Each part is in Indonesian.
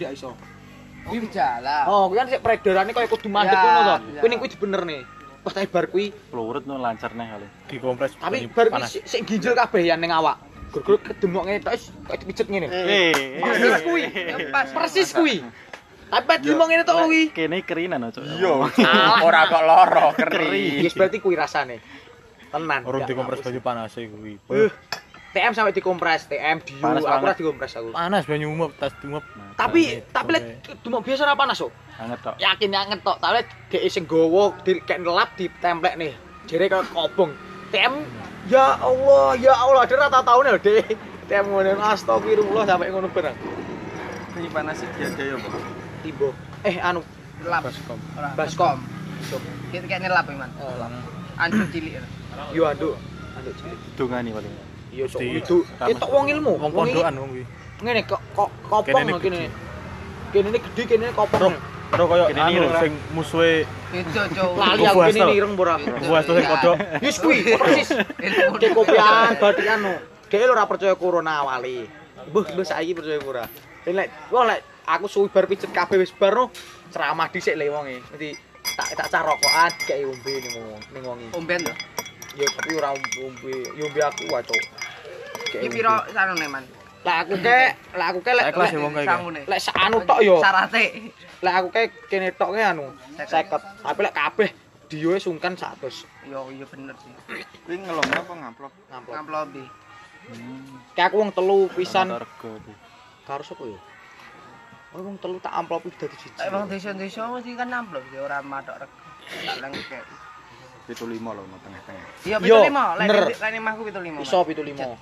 ndak iso. Kuwi gejala. Oh, kuwi kan sik peredarane kaya kudu mandek ngono to. Kuwi ning kuwi dibenerne. Pas tak bar kuwi pelurut no lancar neh kali. Dikompres. tapi bar kuwi sik ginjel kabeh ya ning awak. Gur-gur kedemok ngene tok kaya dipijet ngene. Persis kuwi. Persis kuwi. Tapi dimong ngene tok kuwi. Kene kerinan cuk. Iya. Ora kok loro keri. Wis berarti kuwi rasane. Tenan. Orang dikompres banyu panas kuwi. TM sampai dikompres, TM diu, Panas aku banget. ora dikompres aku. Panas banyu umep, tas umep. Tapi lek dumok biasa ora panas kok. Anget tok. Yakin anget tok, tapi lek dhek sing gowo dikek ngelap ditemplek nih. Jere kaya kobong. TM ya Allah, dia rata taune lho, Dek. TM ngono astagfirullah sampai ngono barang. Ini panas iki ada ya, Pak. Tibo. Anu Lap. Baskom. baskom. Kita kayak nyelap man. Anjing cilik. Yo anduk cilik. Dungani paling. Iya sok Di- itu. Itu wong ilmu, Wong pondokan wong kuwi. ngene kok kopong Kene ini kene. Kene ini gede, kene ini kopong. Terus koyo Kene anu ireng, sing musuhe Itu cowok. Lali Kubu aku kene Astel. ini ireng ora. buah itu sing kodok. Wis kuwi persis. Dek kopian batik anu. Dek lho ora percaya corona wali. Mbah saiki percaya ora. Lek aku suwi bar pijet kabeh wis bar no ceramah dhisik le wonge. Dadi tak cah rokokan dikek ombe ning wonge. Omben to. Ya tapi ora ombe, yo ombe aku wae, Cuk. Iki piro sarone man? Lek aku ke lek Saya kelas ya wong kae. Sangune. lek anu tok yo. Syarate. Lek aku ke kene tok ke anu 50. Tapi lek kabeh dioe sungkan 100. Yo iya bener sih. Kuwi ngelong apa ngamplop? Ngamplop. Ngamplopi. Kayak aku wong telu pisan Rego. karo sapa yo? Oh wong telu tak amplopi dadi siji. Emang desa-desa mesti kan amplop sih ora matok rego. Tak lengke. 75 lho no tengah-tengah. Iya Yo, 75. Lek bener. lek mahku 75. Iso 75.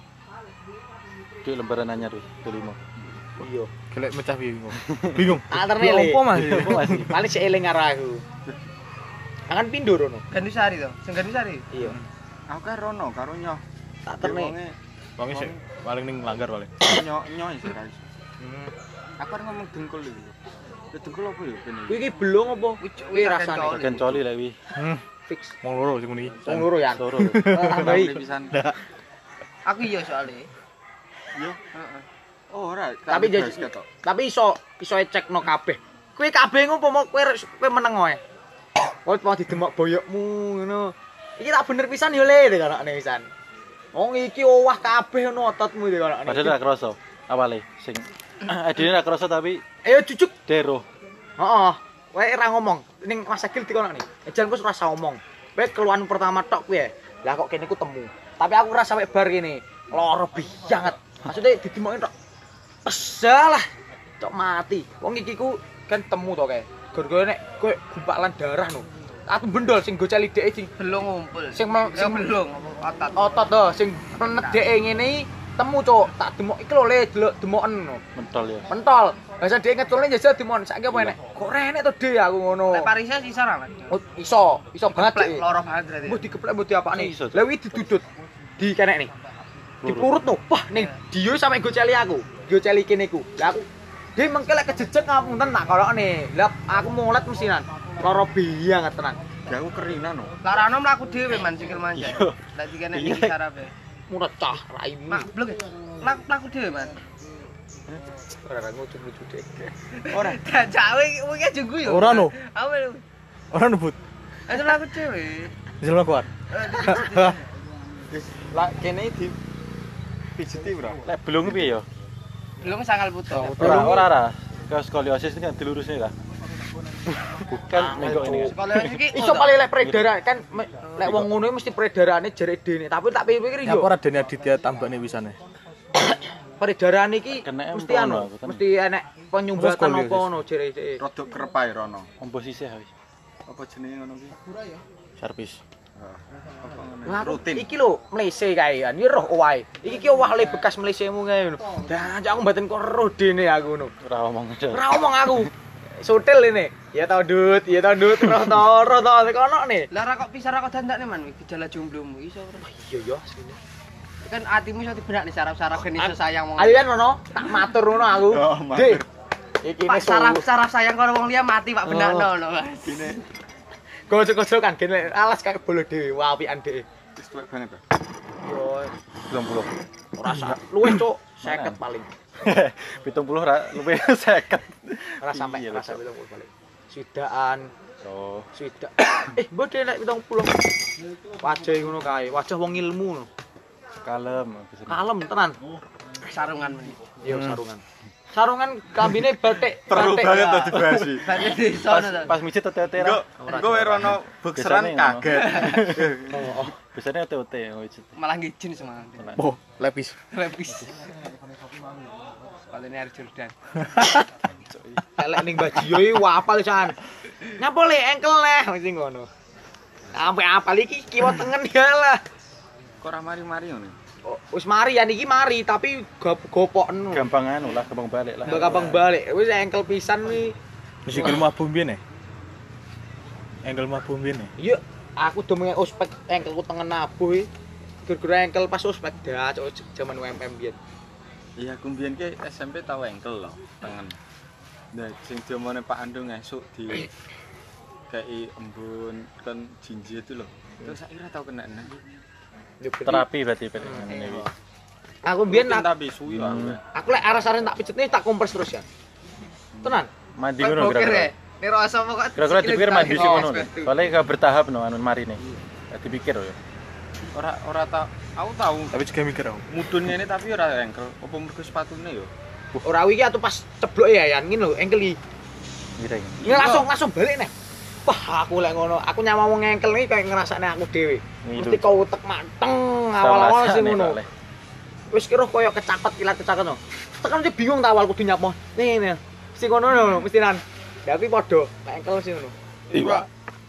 Ki lembaran anyar wis 25. Iya. Gelek mecah bingung. Bingung. Alterne le. Opo Mas? Paling sik eling karo aku. Kan pindho rono. Gandusari to. Sing Gandusari. Iya. Aku kan rono karo nyoh. Tak terne. Wong sing paling ning langgar paling. Nyoh sih ra iso. Aku kan ngomong dengkul iki. Ya dengkul apa ya kene? Kuwi iki belum apa? Kuwi rasane Bagian coli lek wi. fix. Wong loro sing ngene iki. Wong loro ya. Loro. Tambahi. Pisan. Aku iya soalnya. Yo. Heeh. Oh ora, Tapi tapi iso cekno kabeh. Kuwi kabeh ngumpama kowe meneng wae. Kowe mau didemok boyokmu ngono. Iki tak bener pisan yo le kanakne pisan. Wong iki owah kabeh ono ototmu iki kanakne. Padahal ra kroso awale sing adine ra kroso tapi Ayo jujuk. dero. Heeh. Kowe ora ngomong ning Mas Agil dikonakne. Ejan kowe ora usah ngomong. Kowe keluhan pertama tok kuwi. Lah kok kene ku temu. Tapi aku ora sampe bar kene. Loro banget. Maksudnya didemokin tok. Pesalah. Tok mati. Wong iki ku kan temu to kae. Gara-gara nek kowe gumpalan darah no. Aku bendol sing goceli dhek sing Belum ngumpul. sing belum otot. otot to sing penet dhek ngene iki temu cuk. Tak demok iki lho le delok demoken no. Mentol ya. Pentol. Lah dhek ngetulne jajal demon. Saiki apa enek? Kok renek to dhek aku ngono. Lek Parisnya sisa ra, Mas? Oh, iso banget Plek dhek. loro banget berarti. Mbah dikeplek mbah diapakne. Iso. Lah wi didudut. Di kenek nih. Dipurut no. Wah, ning dio sampe goceli aku. Goceli kene ku. Lah aku dia mengke lek kejejeg ngapunten tak kolokne. Lah aku mulet mesinan. Loro banget tenan. Ya aku kerinan no. Larano mlaku dhewe man sikil manjat. Lah dikene iki sarape. Mulet cah raimu. Mak blek. Mlaku dhewe man. Ora ngucu-ngucu deh. Ora. Jawe iki jenggu yo. Ora no. Apa? Ora nebut. Itu mlaku dhewe. Jelma kuat. Lah kene di pijeti bro. Lek belum piye ya? Belum sangal putus. Ora. Ke skoliosis ini kan dilurusnya lah. Bukan mengko ini. Sekolah iki Iso paling lek peredaran kan lek wong ngono mesti peredarane jere dene. Tapi tak pikir Ya yo. ora Deni Aditya tambane wisane. Peredaran iki Kena mesti empono anu, kan. aku, tenan. mesti enek penyumbatan Skoliosis. apa ngono jere. Rodok kerepai rono. Ombo sisih wis. Apa jenenge ngono kuwi? Servis. Apa ngono? Lah Rutin. iki lho mlese kae kan. Ya roh owahe. Iki ki owah le bekas mlesemu kae ngono. Dah aku mboten kok roh dene aku ngono. Ora omong aja. Ora omong aku. Sotel ini. Ya tau Dut, roh to kono ne. Lah ra kok pisah ra kok dandakne man gejala jomblomu iso ora. Iya ya asline. Kan atimu iso dibenak nih saraf-saraf kan iso sayang wong. Ayo kan ono, tak matur ngono aku. Oh, matur. Dek. Iki Pak ne saraf-saraf sayang karo wong liya mati Pak benakno lho Mas. Ini gojok-gojok kan gene alas kayak bolo dhewe, wapian dhewe. wis tuwek banget to. Yo 90. ora sak luwih cuk 50 paling. 70 ra luwih 50. Ora sampai Iya, ora betul. sampai 70 balik. Swidakan, Oh, swidak. Mbok dhewe nek 70. Wajah ngono kae, wajah wong ilmu ngono. kalem bisa. Kalem tenan. Sarungan meneh. Iya sarungan. Sarungan kambine batik. Perlu batik. banget tuh dibahas iki. Balik di sono to. Pas mijit tete Engko engko Rono bukseran Biasanya ngono. kaget. Biasanya OT mijit. Malah ngijin semangat. Oh, lepis. Lepis. Sepatune Air Jordan. Elek ning Bajio iki wapal san. Nyapa le engkel neh mesti ngono. Sampai apal iki kiwa tengen ya lah. Kok ora mari-mari ngono. Oh, wis mari ya niki mari tapi gopokno. Gampang anu lah, gampang balik lah. Gampang balik. Wis engkel pisan wi. Wis iki mabuk mbiyen Engkel mabuk mbiyen Iya, aku do mengek ospek engkelku tengen nabuh iki. Gara-gara engkel pas ospek dah jaman UMM biyen. Iya, aku mbiyen ki SMP tau engkel lho, tengen. Nah, sing diomone Pak Andung esuk di kayak embun kan jinji itu loh. Terus saya kira tau kena nang. Terapi berarti ini. Aku biyen tapi suwi wae. aku lek aras-aras tak pijet nih tak kompres terus ya. Tenan. Mandi ngono Boker kira-kira. ya. Nek rasa kok. Kira-kira dipikir mandi sih ngono. Oh, Soale gak bertahap no anu marine. Dipikir ya. Ora tau, aku tahu Tapi juga mikir aku. mudun ngene tapi ora engkel. Apa mergo sepatune yo? Ora iki atau pas ceblok ya yan ngene lho engkel iki. Ngira iki. Ini langsung balik nih. Wah, aku lek ngono, aku nyama wong engkel iki kayak ngrasakne aku dhewe. Ngilu. Mesti kau utek mateng awal-awal sih ngono. Soalnya. Wis kira koyo kecapet kilat kecaket no. Tekan mesti bingung ta awal kudu nyapa. Nih. Mesti ngono lho, mestinan. Tapi padha nek engkel sih ngono. Iya.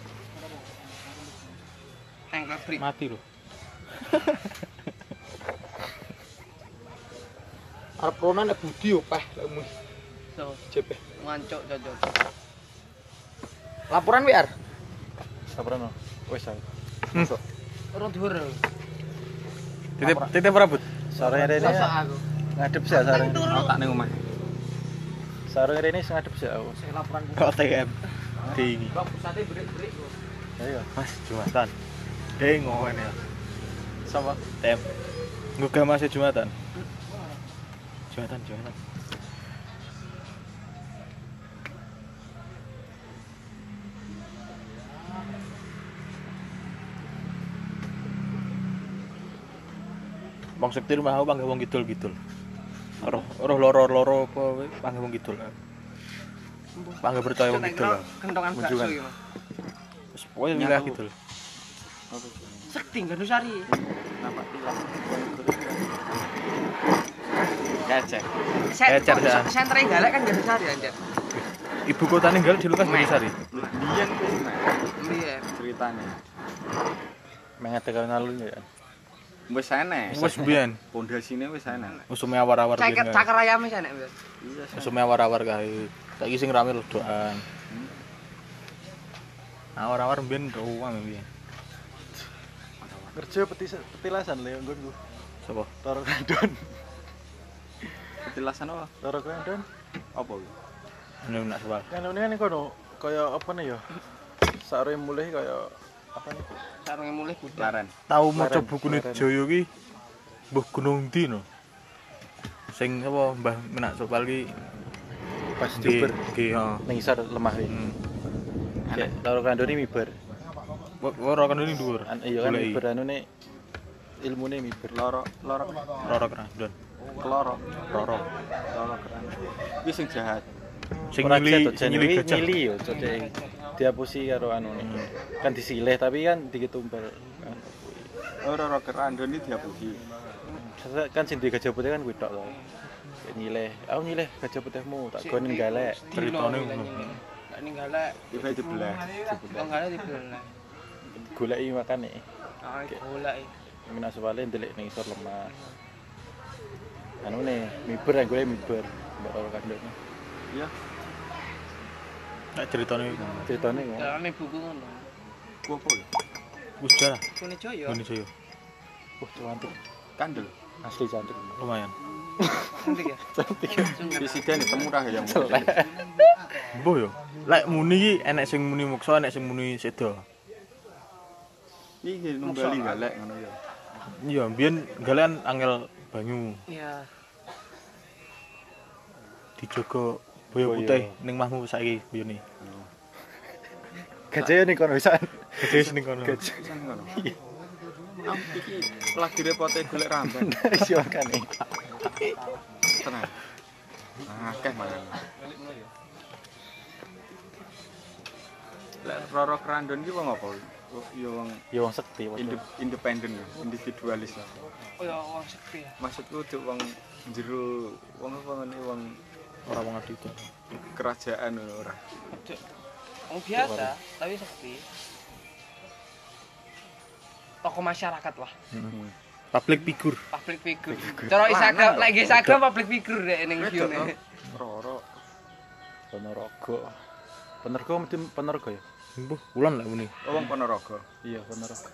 Engkel free. Mati lho. Arep ronan nek budi yo peh lek mu So, jepeh. ngancuk cocok. Laporan WR. Sabar no. Wis aku. Ora dhuwur. Titip rambut. Sore rene Rasa aku. ngadep sih sare. Aku tak ning omah. Sore rene ngadep sih aku. Saya laporan. Kok TM. Dingi. Bang pusate break-break. Ayo. Mas Jumatan. Deng ngowen ya. Sama. TM. Ngugah Mas Jumatan. Jumatan. Bang Sekti rumah aku panggil wong kidul-kidul. Roh loro-loro apa wae panggil wong kidul. Panggil percaya wong kidul. Kentongan bakso Kunjungan. iki, Mas. Wis pokoke wilayah kidul. Sekti Gandusari. Nampak tilas. Gacek. Ecer, ya. Sentre galak kan Gandusari anjir. Ibu kota ninggal di Lukas Banyusari. Biyen kuwi Iya. ceritane. Mengatakan alun ya. Wis enek. Wis biyen. Pondasine wis enek. Usume awar-awar Caker biyen. caker ayam wis enek, Mas. Iya. Usume awar-awar kae. Saiki sing rame ledokan. Awar-awar biyen ruang biyen. Kerja petilasan le nggonku. Sopo? Loro kandon. Petilasan apa? Loro kandon. Apa kuwi? Ini nak soal. Kan ini kan kono kaya apa nih ya? Sare mulih kaya apa nih? Sarunge mulih budal. Laren. Tahu maca Leren, bukune leren. Joyo ki Mbah Gunung Ndi no. Sing apa Mbah Menak Sopal ki Pas nggih Jember. nggih ha. Ning isor lemah iki. Kayak loro kandon ini miber. Ora kan ini dhuwur. Iya kan miber anune ilmune miber. Loro Roro Krandon. keloro. Roro. Loro keren. Iki sing jahat. Sing Ora nyili jet, sing nyili nyili gajah. nyili yo cocok. Diapusi karo anune. Kan disilih tapi kan diketumpel. Kan. Loro kerandon iki diapusi. Kan sing di gajah putih kan kuwi tok to. Kayak nyileh. Aku nyileh gajah putihmu tak gon galek. Ceritane ngono. Nek ning galak, Iku dibelah. wong galak dibelah. Goleki makane. Ah, golak. Minak sewale ndelik ning isor lemah. Anune miber yang gue miber. Mbak loro kandon. Iya. Nek ceritane iku. Ceritane kok. Dalane buku ngono. Ku apa ya? Wis jarah. Kune Joyo. Ngene Joyo. Wah, cantik. Kandel. Asli cantik. Lumayan. Cantik ya? Cantik. Presiden itu murah ya. Mbuh yo. Lek muni ki enek sing muni muksa, enek sing muni sedo. Iki numbali galek ngono ya. Iya, biyen galean angel banyu Iya. dijogo Boyo Boyo. putih ning mahmu saiki boyone. Gajah ning kono pisan. Gede ning kono. Gajah. Pisan ngono. Iki lagi repote golek ramban. Isi makane. Tenang. Akeh mangan. Lek Roro Krandon ki wong apa? Ya wong Ya wong sekti padha. independen, individualis. Oh ya wong sepi ya. Maksudku cuk wong jero wong apa ngene wong Ora wong adi itu. kerajaan ngono ora. Cuk. Wong biasa tapi sepi. Tokoh masyarakat lah, Public figure. public figure. Cara Instagram, lek Instagram public figure nek ning Wedok, view-ne. Roro Ponorogo. Ponorogo mesti Ponorogo ya? Mbuh, wulan lek muni. wong Ponorogo. Iya, Ponorogo.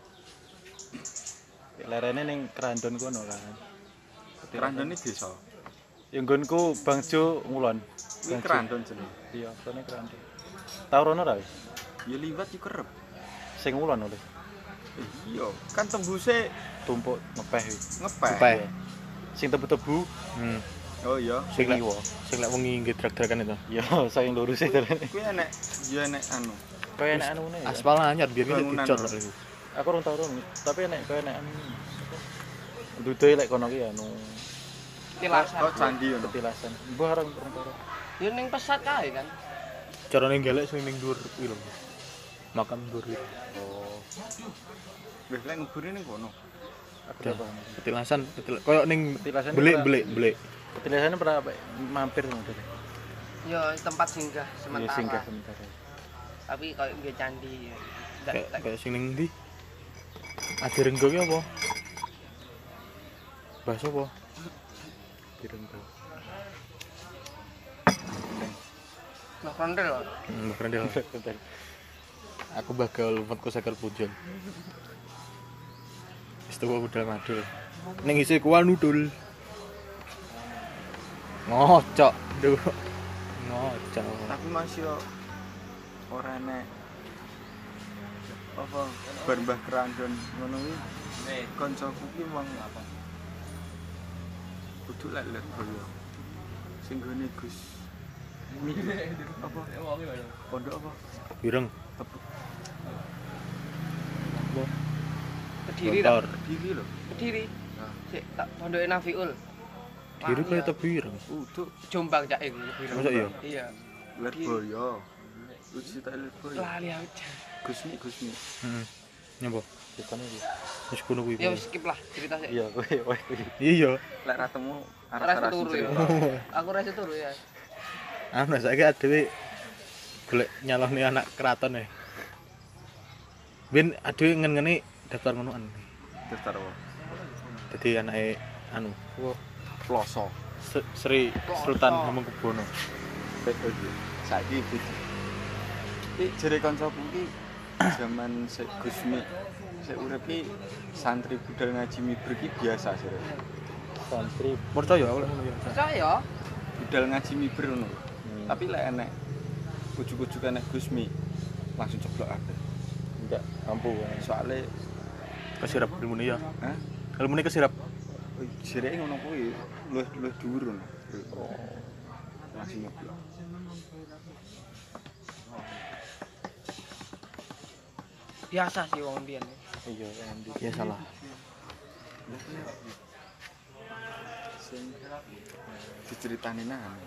Lerene ning Krandon kono kan. Krandon iki desa. Ya nggonku Bangjo ngulon. Kuwi Krandon jenenge. Iya, kene Krandon. Tau rono ra? Ya liwat yo kerep. Sing ngulon oleh Iya, kan tembuse tumpuk ngepeh iki. ngepeh. Ngepeh. Sing tebu-tebu Oh iya. Sing lek kiwa. sing lek wengi nggih drag-dragan itu. Ya, saking lurus e terus. Kuwi enek ya enek anu. Kaya enak anune. ya. Aspal anyar biar kita Bangunan. dicor lek iku. Aku urung tau rono, tapi enek kaya enak anu. Dudoe lek kono ki anu Tilasan. Kok candi ngono. petilasan. Mbah areng urung tau. Yo ning pesat kae kan. Carane gelek sing ning dhuwur kuwi lho. Makam dhuwur iki. Oh, Wis lek ngubur ning kono. aku udah paham. Petilasan, koyo ning Petilasan belik. Petilasannya pernah apa? Mampir ngono deh. Yo tempat singgah Iya, sementara. singgah sementara. Tapi koyo nggih candi. Ya. Kayak sing ning ndi? Adi Renggo ki apa? Bahasa apa? Direnggo. Nah, kondel. Keren deh. Bentar. Aku bakal lumpatku sakar pujon. Wis tuwa budal madul. Ning isi kual nudul. Ngocok, duh. Ngocok. Tapi masih yo ora enek apa bar Mbah Krandon ngono kuwi. Kancaku ki wong apa? Kudu lek boyo. Sing gone Gus. Apa? Pondok apa? Bireng. Kediri Motor. ta? Kediri lho. Kediri. Nah. Sik tak pondoke Nafiul. Kiri kaya tebireng. Uduk Jombang cak iku. Masa iya? Iya. Lirboyo. Uji tak Lirboyo. Lali aku. Gusmi. Heeh. Nyapa? Ditane iki. Wis kono kuwi. Ya wis skip lah cerita sik. Iya, kowe. Iya. Lek ratemu Rasa arah-arah turu ya. Aku rasa turu ya. Anu saiki adewe golek nyalone anak keraton e. Ben adewe ngen-ngene daftar ngonoan. daftar apa? Dadi anake anu Ploso. Sri Sultan Hamengkubuwono. Saiki iki. Iki jere kancaku iki zaman sik Gusmi sik urip iki santri budal ngaji miber iki biasa sih. Santri Percaya oleh ngono ya. Percaya? Budal ngaji miber ngono. Tapi lek enek ujug-ujug enek Gusmi langsung ceblok kabeh. enggak mampu. Soale Kesirap ilmune ya. hah? Ilmune kesirap. Jereke ngono kuwi luwih dhuwur ngono. Langsung nyeblok. Biasa sih wong mbiyen. Iya, endi. Ya salah. Sing diceritani nang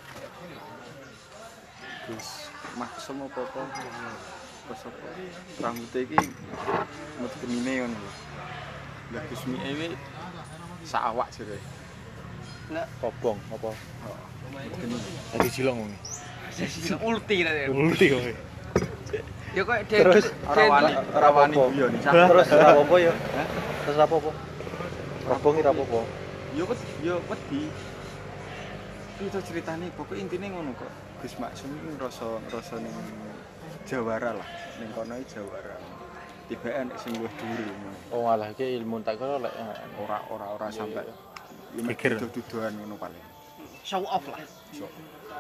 Gus maksum apa-apa pas apa rambutnya iki mut gemine ngono lho. Lah Gusmi ewe sak awak jere. Kobong apa? Dadi silong ngono. Ulti tadi. Ulti kowe. Ya kok Terus Ora wani guyon iki. Terus ora apa-apa ya? Terus apa-apa? Kobong ora apa-apa. Yo wedi. Itu ceritane pokok intine ngono kok. Gus Maksum iki ngrasa ning Jawara lah. Ning kono iki Jawara. Tiba enek sing luwih dhuwur ngono. Oh alah iki ilmu tak kira lek Ora sampai Pikir. duduhan ngono paling. show off lah. Sok.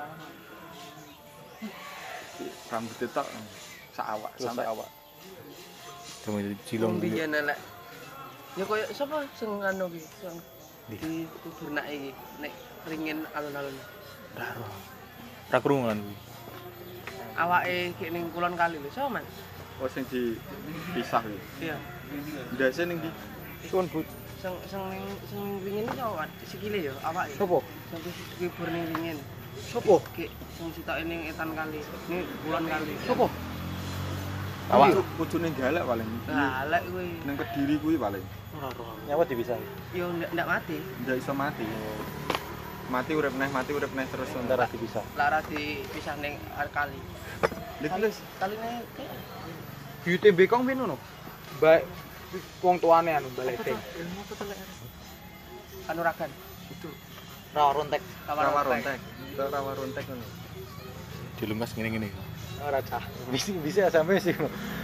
Rambut tok sak awak terus sampai awak. Demi Wong silong iki. biyen elek. Ya koyo sapa sing anu ki sing di kubur nak iki nek ringin alun-alun. Daro. Ra krungu kan kuwi. Awake ki ning kulon kali lho, so Mas. Oh sing dipisah iki. Iya. Ndase ning ndi? Suwun Bu. Sing wingin iki so sikile yo awake. Sopo? Sing kibur ning wingin. Sopo? Ki sing sitoke ning etan kali. Ning kulon kali. Sopo? Awak kudune galak paling. Galak kuwi. Ning Kediri kuwi paling. Ora ora. Nyawa dipisah. Yo ndak mati. Ndak iso mati. Mati urip neh terus Sebentar dipisah. Lara dipisah ning kali. Lha Kaline Beauty Bekong piye ngono? Baik wong tuane anu balik ding. Kanuragan. Ra rontek. rawa rontek. Rawa rontek ngono. Dilungkas ngene-ngene. Ora cah. Bisa sampai sih.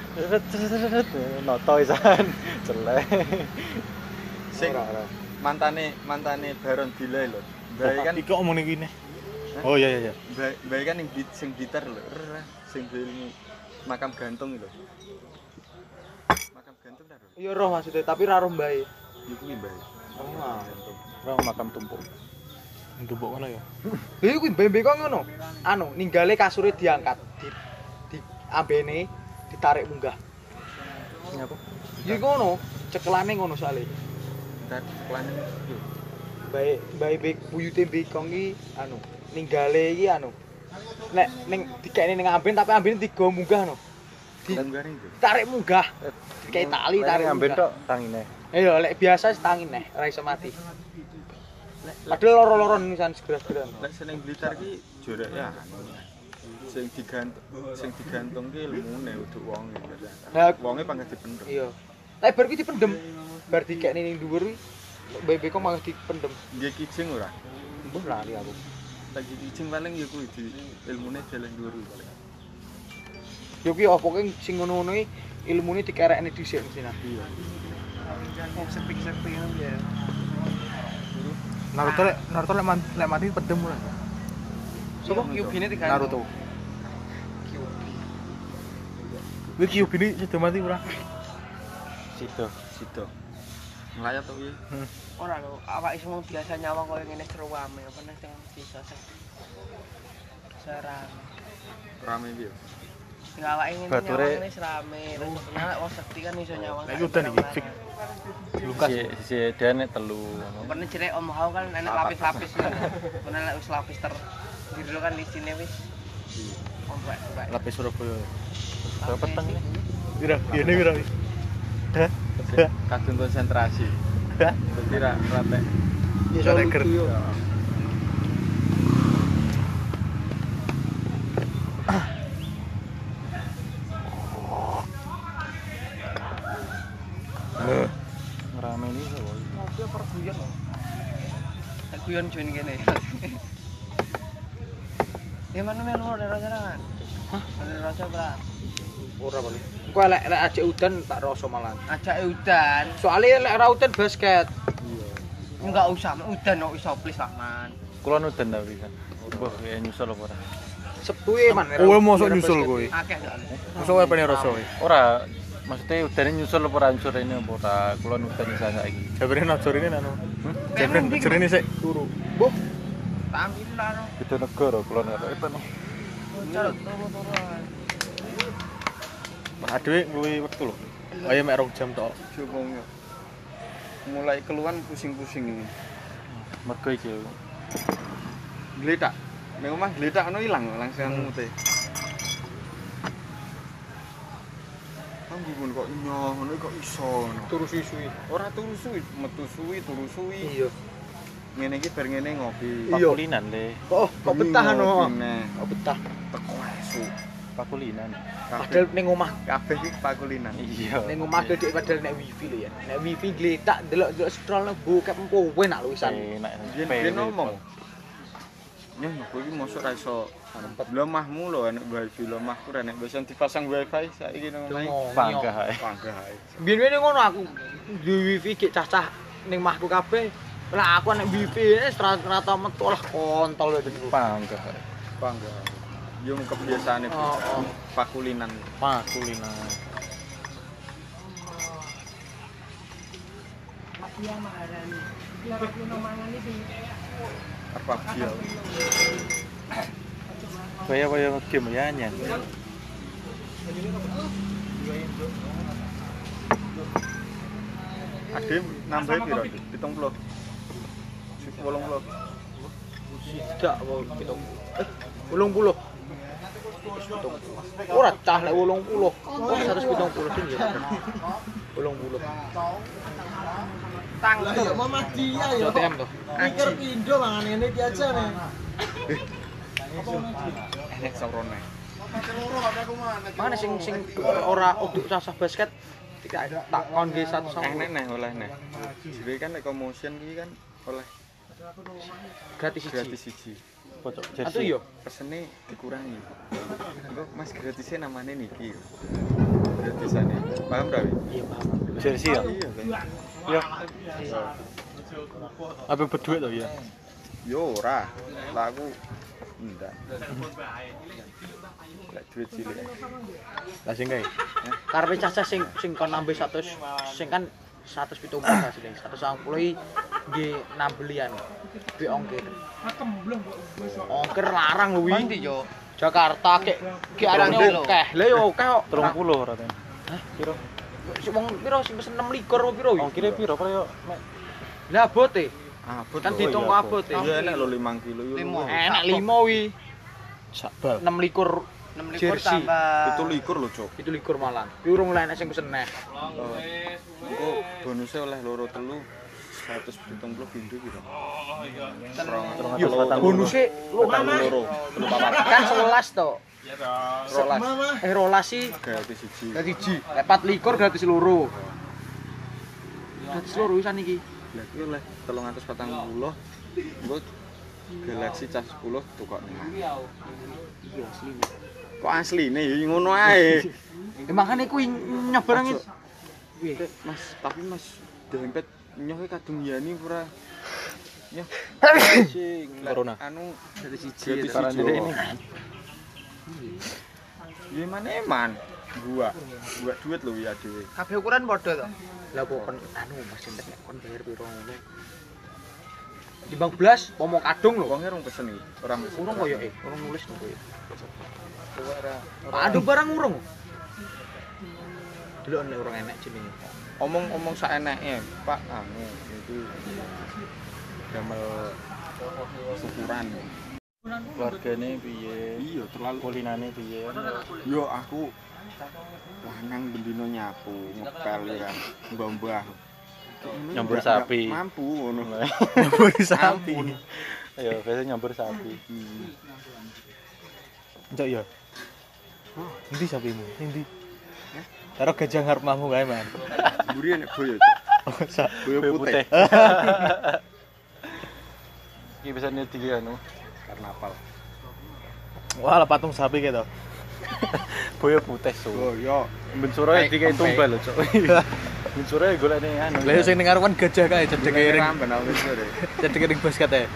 Noto isan. Celek. Sing mantane Baron Dile lho. Bae kan iki kok omong iki ne. Oh iya iya. Bae kan sing gitar lho. Sing ilmu makam gantung lho. Makam gantung ta, Bro? Iya roh maksudnya, tapi ra roh mbae. Iku kuwi bae. Oh. Orang makam tumpuk. Ndubuk ngono ya. Lha kuwi mbae kok ngono. Anu, ninggale kasure diangkat, di ambene ditarik munggah. Ngapa? Ya ngono, cekelane ngono soalé. Entar ceklane yo. Bae buyute Bekong iki anu, ninggale iki anu. Nek ning dikene ning amben tapi ambene digo munggah no. Tanggane itu. Tarik munggah. Kayak tali tarik amben munggah. tok tangine. Iya, lek biasa setangin neh, ora iso mati. Padahal loro-loron nisan segera-segera. Lek seneng Blitar ki jorek ya anu. Sing digantung ki ilmune uduk wonge. Lah Wonge pangkat dipendem. iya. Tapi bar kuwi dipendem. Bar dikekne ning dhuwur kuwi bebe kok malah dipendem. Nggih kijing ora? Mbuh lali aku. Lagi kijing paling ya kuwi di ilmune jalan dhuwur kuwi paling. Yo ki opo ki sing ngono-ngono iki ilmune dikerekne dhisik mesti nah. Iya. sepik-sepik ngono ya. Naruto lek mati pedem ora. Sopo? Kyubine digantung. Naruto. Kuwi Kyubine sudah mati ora? Sido. Nglayat to piye? Ora lho, awake semua biasa nyawang koyo ngene ceruame, apa neh sing bisa serang. Rame piye? Sing awake ngene Bature- nyawang ngene serame, terus nek wong sekti kan iso nyawang. Nek udan iki fik. Lukas. Si dene telu. Pernah jere Om Hao kan enek lapis-lapis. Pernah lek wis lapis biru kan di sini wis. Ombak. Lapis Surabaya. Berapa peteng ini? Pira? Iyene pira? Hah? Kadung konsentrasi. Dadi ra ratek. Iso Reker. Rame ini kok. Mobil perguyon lho. Tak guyon join kene. Ya mana melu dari raja kan? Hah? Dari raja berat. Ora paling. Engko lek ajek udan tak rasa malah. Ajak udan. Soale lek ora udan basket. Enggak usah udan kok iso plis lah man. Kulon udan ta pisan. Mbah ya nyusul apa ora? Sepuhe man. Kowe mosok nyusul kowe. Akeh soalnya. Mosok kowe pengen rasa kowe. Ora, maksudnya udane nyusul apa ora unsur ini apa ora? Kulon udan isa saiki. Jabare najor ini anu. Jabare najor ini sik turu. Mbuh, Tampil lah no. Beda negara kulon karo itu. Turu-turuan. Adewe kuwi wektu lho. Ayo mek 2 jam tok. Jogong yo. Mulai keluhan pusing-pusing ini. Mergo iki lho. Gletak. Ning omah gletak ono ilang langsung mute. Ambun kok nyoh ngono kok iso ngono. turu suwi-suwi. Ora turu suwi, metu suwi, turu suwi. Iya. Ngene iki bar ngene ngopi. Iya. Pakulinan le. Kok betah no. Nah, Kok betah. teko esuk. Pakulinan. Padahal ning omah Kabeh iki pakulinan. Iya. ning omah gede padahal nek wifi lho ya. Nek wifi gletak delok-delok scroll nang bokep empo enak lho wisan. Enak. Biyen ngomong. Nyah aku iki mosok ra iso lemahmu lho enek wifi lemahku ra nek bisa dipasang wifi saiki nang omahe. Panggah ae. Panggah ae. Biyen ngono aku di wifi gek cacah ning mahku kabeh. Lah aku nek wifi wis rata metu lah kontol lho. Panggah ae. Panggah. Yo kebiasaane Oh, oh. pakulinan. Pakulinan. Iya Maharani. Loro kuno mangan iki. Apa dia? Kaya game ya nyan. Ade nambah piro? 70. 80. Tidak, pitung. 80. Ora cah lek 80. 170 sing ya. 80. Tang. Ya Mama dia ya. JTM tuh. Mikir pindo mangan ini iki aja nih. Enek sorone. Mana sing ora uduk sasah basket tidak tak kon ge 1 Enek neh oleh neh. Jadi kan nek motion iki kan oleh gratis gratis siji. siji. Pocok Atuh jersey. yo. Pesene dikurangi. Engko Mas gratisnya namanya niki. Gratisane. Paham ra? Iya paham. Jersey ya. Iya kan. Ya. Apa berduit to ya? Yo ora. Lah aku ndak. Lek duit cilik. Lah sing kae. Karepe cacah sing kon nambah 100 sing kan 170 asline 190 iki nggih nambelian duwe ongkir. Ongkir larang lho Ndi wi. yo? Jakarta kek arane akeh. Lah yo akeh kok. 30 ora ten. Hah? Piro? Sing wong piro sing pesen 6 likur apa piro wi? Ongkire piro yo? Lah abote. Abot Kan lho. diitung kok abote. Iya enek lho 5 kilo yo. Limo. Enak 5 wi. Sakbal. 6 likur 6 likur Jersey. tambah 7 likur lho, Cuk. 7 likur malan. Ki urung enek sing pesen neh. Engko bonusnya oleh loro telu 170 pindho piro? Yo bonuse lu kan loro, telu papat. kan 11 to. Rolas. Rolas sih Gratis siji. gratis siji. Lek 4 likur gratis loro. Gratis loro wisan iki. Lah iki oleh 340. Engko Galaxy cas 10 tukok 5. Iya asli. Kok asline ya ngono ae. Makane kuwi nyobarangin. Piye? Mas, tapi Mas dempet nyohe kadung yani ora. Nyoh. Sing Corona. Anu Gratis siji. gratis Saran siji. jadi ini. Ya mana eman? Gua duit lho ya dhewe. kabeh ukuran padha to. Lah kok kon anu Mas entek nek kon bayar piro ngono. Timbang blas pomo kadung lho. Wonge rong pesen iki, ora mesen. Urung koyo urung nulis to koyo. Ora. Aduh barang urung. Delok nek urung enek jenenge. Omong saeneke, Pak, anu itu damel syukuran. Keluargane piye? Iya, terlalu Kulinane piye? yo aku lanang bendino nyapu, ngepel ya kan. Mbah-mbah. Nyambur Nggak sapi. Mampu ngono. Nyambur sapi. Ayo, biasanya nyambur sapi. Njok ya. Endi sapimu? Endi? Karo gajah ngarep mahmu kae, Man. Mburi nek boyo. Oh, sak. Boyo putih. Iki biasanya tiga anu. Karnaval. Wah, lah patung sapi kae to. Boyo putih so. Oh, yo. Ben sore dikai tumbal lho, Cuk. Ben sore golekne anu. Lah sing ning ngarepan gajah kae cedek ring. Ramben aku wis sore. Cedek ring basket ae.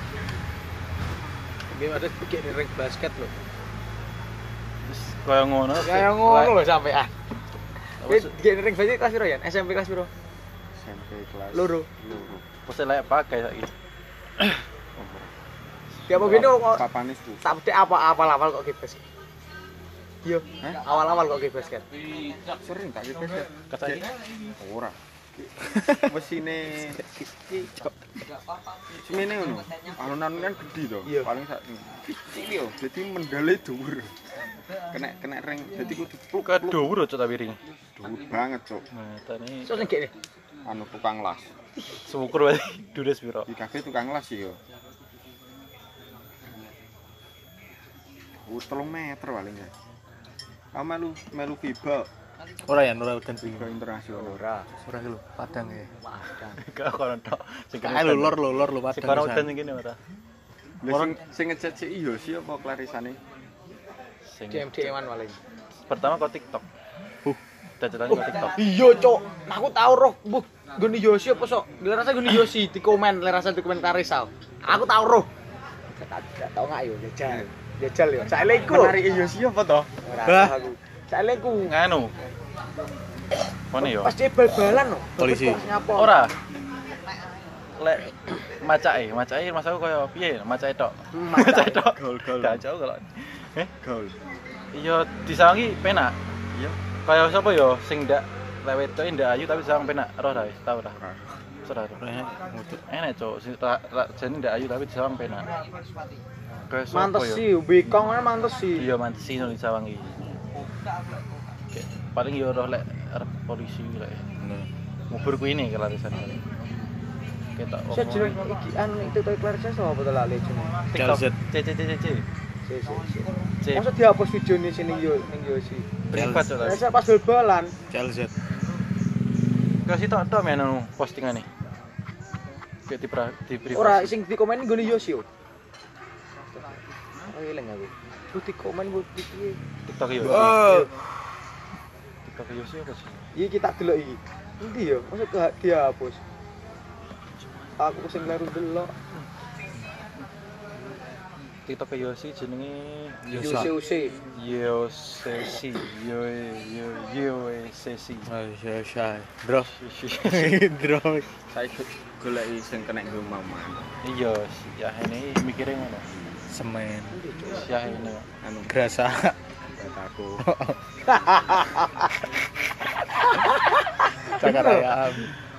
Nggih ada pikir ring basket lho. Kaya ngono. Kayak ngono lho sampean. Nggih ring basket kelas piro ya? SMP kelas piro? SMP kelas Loro. Pasti layak pakai saiki. Ya apa gini kok Papane su. tak bedek apa-awal kok gitu basket. Yo, Hah? awal-awal kok gitu basket. Sering tak gitu. Kasaki. Ora. Mesine semene ngono. Alun-alun kan gede to. Iya. Paling sak kecil yo. Dadi mendale dhuwur. Kena ring. Dadi kudu pluk Ke dhuwur Cuk tapi ring. dhuwur banget, Cuk. Nah, tani Terus nek kene. Anu tukang las. syukur wae dures piro. Di kafe tukang las yo. 3 meter paling ya. Kamu melu FIBA Ora ya, ora udan FIBA internasional. Ora. Ora ki lho, Padang ya. Padang. Gak kono tok. Sing Kae lho lor Sing Padang. kono pisan. udan ngene ora. Lah sing ngecet si iyo sih apa klarisane? Sing DMD-an paling. pertama kok TikTok. Dacetan kok TikTok. Iya, Cuk. Aku tau roh mbuh ngene Yosi apa sok? Lerasa ngene Yosi di komen, lerasa di komentar Rizal. Aku tau roh. Gak tau gak yo jajal. Jajal yo. Saile iku. Menarik iyo sih apa toh? Ora tahu aku. Saile iku. Nganu. Mana yo? Pas dia bal-balan no. Polisi. Nyapa? Ora. Lek macake mas aku kaya piye macake tok. Macake tok. Gol-gol. Gacok kalau. Gol. Iya disawangi penak. Iya. Kaya sapa ya sing ndak lewet tok ndak ayu tapi disawang penak. Roh ta wis tau ta. Ora. Enak cok, jane ndak ayu tapi disawang penak. Kaya sapa Mantes ya? sih, bikong kan mantes sih. Iya mantesi nang disawangi. Paling yo roh lek arep polisi lek. Ngubur kuwi ini kelarisan kali. Ketok. Saya jeneng iki anu itu to Clarissa sapa to lali jeneng. TikTok. CLZ. C. Masa dihapus videone sini yo ning yo sih. Privat to. Saya pas bal-balan. CLZ. Kasih tok men anu postingane. Kayak di privat. Ora sing di komen nggone yo sih. Oh eling aku. Ku di komen ku piye. TikTok yo. Oh. TikTok yo sih apa sih? Iki kita delok iki. Endi yo? Masa dihapus. Aku sing kleru delok. TikTok yo sih jenenge Yose. Yosesi. Yosesi. Ayo syai. Bro. Bro. Saiki goleki sing kena nggo maman. Iya, ya ini mikire ngono. Semen. Ya ini. Anu Grasa. aku. Cakar ayam.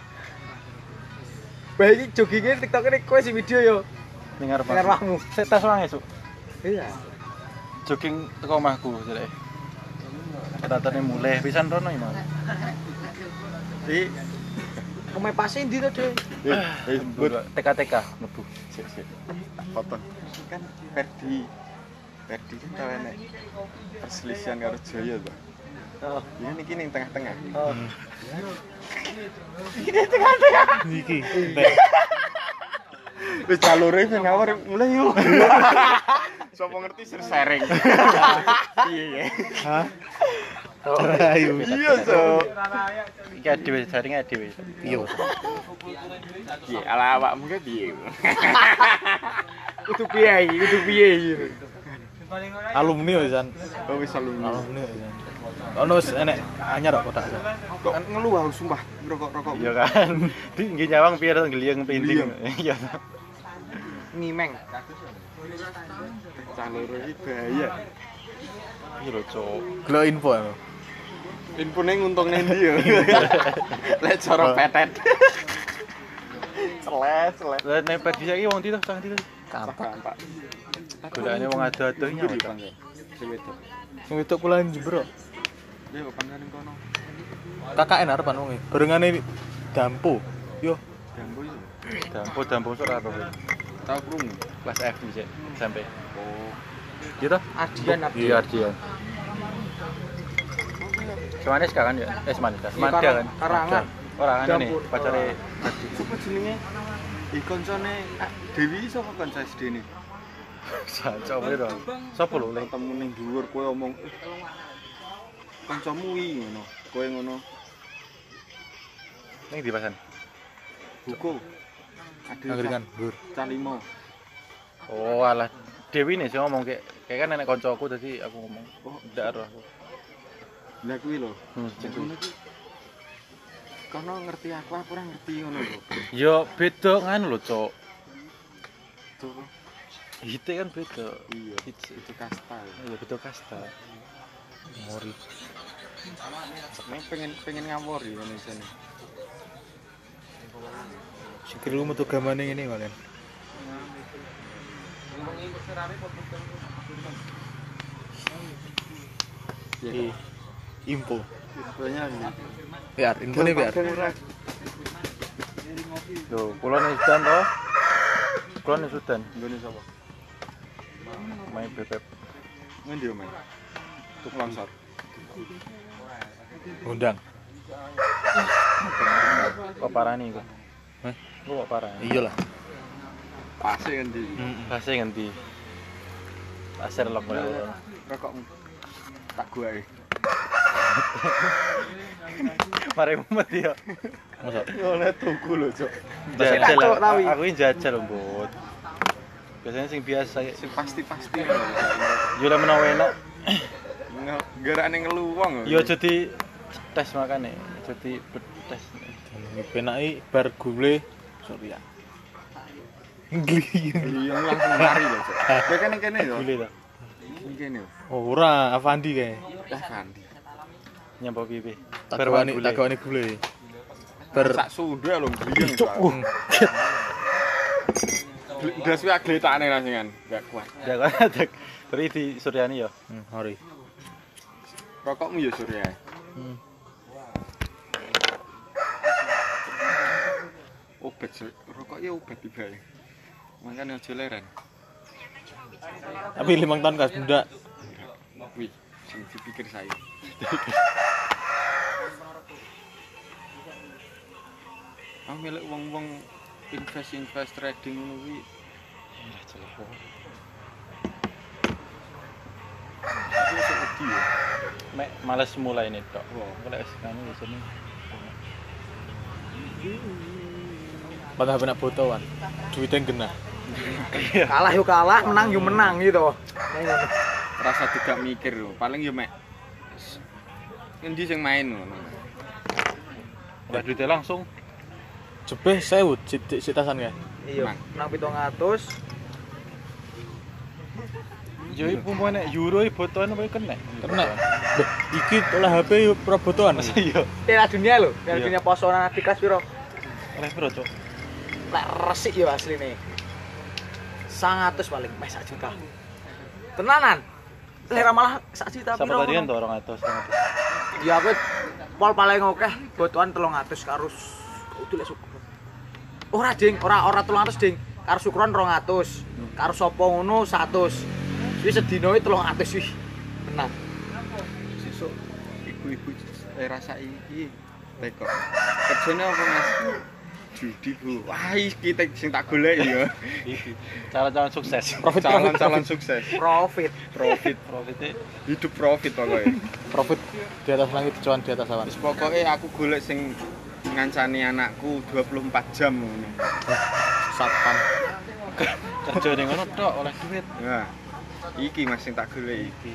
Bae iki joggingnya TikTok ini kowe sing video yo. Ning arep. Ning arepmu. Sik tas wae esuk. Iya. Jogging teko omahku jelek. Ratane mulai pisan rono iki, Mas. Di Pemain pasti ndi to, Dek? TK mlebu. sik. Foto. Kan Ferdi kan tau enek perselisihan karo Joyo to. Oh. Ya niki ning tengah-tengah. Oh. Iki. Wis jalure sing ngawur mulai yo. Sopo ngerti sharing. Piye ya? Hah? Ayo. Iya, so. Iki dhewe jaringe dhewe. Iya. Piye ala awakmu ki piye? Kudu piye iki? Alumni wisan. Oh wis alumni. Alumni wisan. Ono wis enek anyar kok kotak. Kok ngeluh aku sumpah rokok-rokok. Iya kan. Di nggih nyawang piye to ngliyeng penting. Iya. Ngimeng. Jalur iki bahaya. Iki lho, Cuk. Gelo info aku. Infone nguntungne ndi yo? Lek cara petet. Celes. Lah nek pergi saiki wong ndi to, sang ndi to? Kampak. Golekane wong ado-ado iki Ndi nyawang. Bang? Sing wedok. Sing wedok kula Jember. Dia pangane ning kono. KKN arepan wong e. Barengane Dampo. Yo, Dambo itu. Dampo ora apa. Tahu krungu. Kelas F sih sampai. Oh. Gitu? Ardian Iya, Ardian. Semanis kan ya? Semanis. Semanda kan? Karangan. Orang ini Dapur. pacare Sopo jenenge? Koncone Dewi sapa kanca SD-ne? coba itu. Sopo lho lek Ketemu ning dhuwur kowe omong kancamu iki ngono. Kowe ngono. ning di pasan. Buku. angkringan, Bur. Calimo. Oh, alah Dewi nih sih ngomong kayak kan nenek koncoku tadi aku ngomong. Oh, ndak ero aku. Lah kuwi lho. Sing Ngono iki. Kono ngerti aku ora ngerti ngono lho. Yo beda nganu lho, Cok. Tuh. Hite kan beda. Iya, Hits itu kasta. iya beda kasta. Mori. Nek pengen ngawur ya Indonesia nih. Sikir lu metu gamane ngene kalian. Iya. Info. Banyak nih. Biar infone biar. Loh, kula nih Sudan toh. Kula nih Sudan, Nggone sapa? main bebek. Ngendi yo, Mas? Tuk longsor. Undang. Kok parah nih kok? Hah? Lu kok parah? Iya lah. Pase ngendi? Kasih ngendi? Pasir lok lho. Rokokmu. Tak guae. Mari mumet ya. Masa Ngono tuku lho, Cuk. Jajal. Cok, tawi. Aku ini jajal, Mbut. Biasanya sing biasa ya. Sing pasti-pasti. Yo lek menawa enak, Garane ngelu wong. yo jadi tes makane, jadi betes. penaki bar gule Surya. Gli. Iya langsung lari lho, Cok. Kowe kan ning kene yo. Gile to. Ning kene. Oh, ora Avandi kae. Lah Fandi. Nyampo pipi. Takone gule. Ber Sak sunde lho gliyeng. Ndas kuwi agletane langsung enggak kuat. Ya kan tapi di Suryani ya. Hori. Rokokmu ya Surya. Obat rokok ya obat tiba ya. Makanya aja leren. Tapi 5 tahun kas bunda. Wih, sing dipikir saya. Ah milik wong-wong invest trading ngono kuwi. Ya jelas. Mek males mulai ini tok. Kalau sekarang di sini. Padahal benak botoan. Duitnya genah. Kalah yo kalah, menang yo menang gitu. Rasa tidak mikir lho, paling yo mek endi sing main ngono. Udah duitnya langsung. Jebeh 1000 sitasan kae. Iya, menang 700. Yo iku nek euro iki botoan apa kena? Kena. Beh, iki oleh HP yo pro botoan. Masa iya. Piala dunia lho, Piala Iya. dunia posonan di kelas piro? Oleh piro, Cok? Lek resik yo asline. 100 paling, meh 1 juta. Tenanan. Lek malah 1 juta Sama piro? tadi kan 200. Ya aku pol paling akeh botoan 300 karo itu lek syukur. Ora ding, ora 300 ding. Karo syukuran 200. Karo sapa ngono 100. Wis sedina iki 300 wih. Tenang. Sesuk ibu-ibu rasa iki teko. Kerjane apa Mas? Judi, Bu. Wah, iki sing tak golek ya. Calon-calon sukses. Calon-calon sukses. Profit. Profitnya Hidup profit pokoknya. Profit di atas langit, cuan di atas awan. Wis pokoke aku golek sing ngancani anakku 24 jam ngono. Satpam. kerja ning ngono tok oleh duit. Nah, iki Mas sing tak golek iki.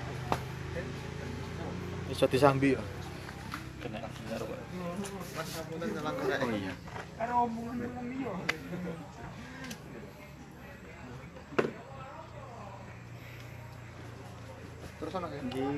Iso disambi yo. Kena nyaru kok. Oh iya. Terus ana Nggih.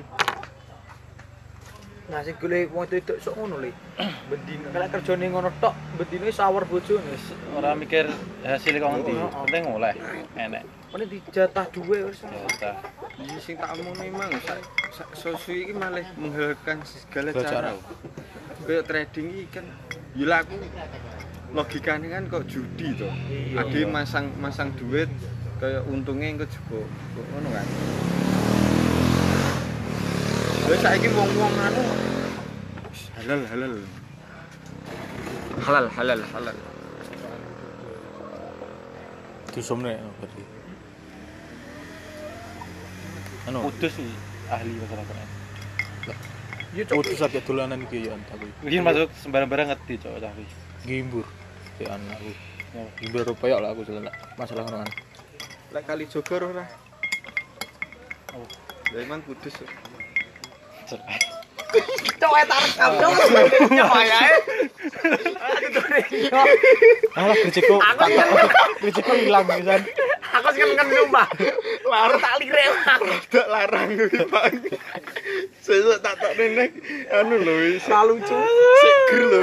Nah sing golek wong itu sok ngono le. Bendino kalek kerjane ngono tok, bendino sawer bojone. Wis ora mikir hasil kok ngendi, penting oleh enek. Ini dijatah duwe wis. Ya udah. Iki sing tak omong memang sak sosu iki malah menghalalkan segala Segala cara. cara. Kayak trading iki kan ya aku logikane kan kok judi to. Ade masang duit kayak untungnya engko juga ngono kan. Wis saiki wong-wong anu halal. Disomne berarti. Anu, Kudus sih ahli masyarakat. Yo cok. putus akeh dolanan iki yo tapi. Iki masuk sembarang-barang ngerti cok tapi. Gimbur. Ya anakku. Ya. Gimbur rupaya lah aku jalan masalah ngono kan. lek kali Jogor ora. Oh. Lah emang kudus. Cerai. Cok tak rekam cok. Wayahe. Alah kricikku. Kricikku ilang pisan. Aku sing kan sumpah. Larang tak lirek aku. Tak larang kuwi, Pak. Sesuk tak nenek anu lho wis. Lucu. Seger lho.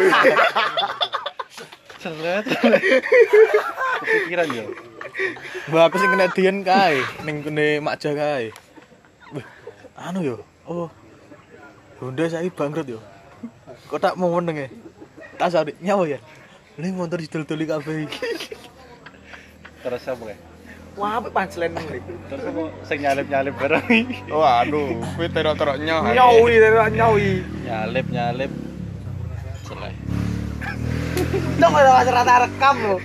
Seret. Kepikiran yo. Mbak aku sing kena dian kae ning kene Makja kae. Wih, anu yo. Oh. Honda saiki bangkrut yo. Kok tak mau meneng e. Tas arek nyawa ya. Ini motor didol-doli kabeh iki. Terus apa kae? Wah, apik pancelen iki. Terus apa sing nyalip-nyalip bareng iki? Waduh, kuwi terok-terok nyoh. Nyawi, nyawi. Nyalip. Cerai. Cok ora rata rekam lho.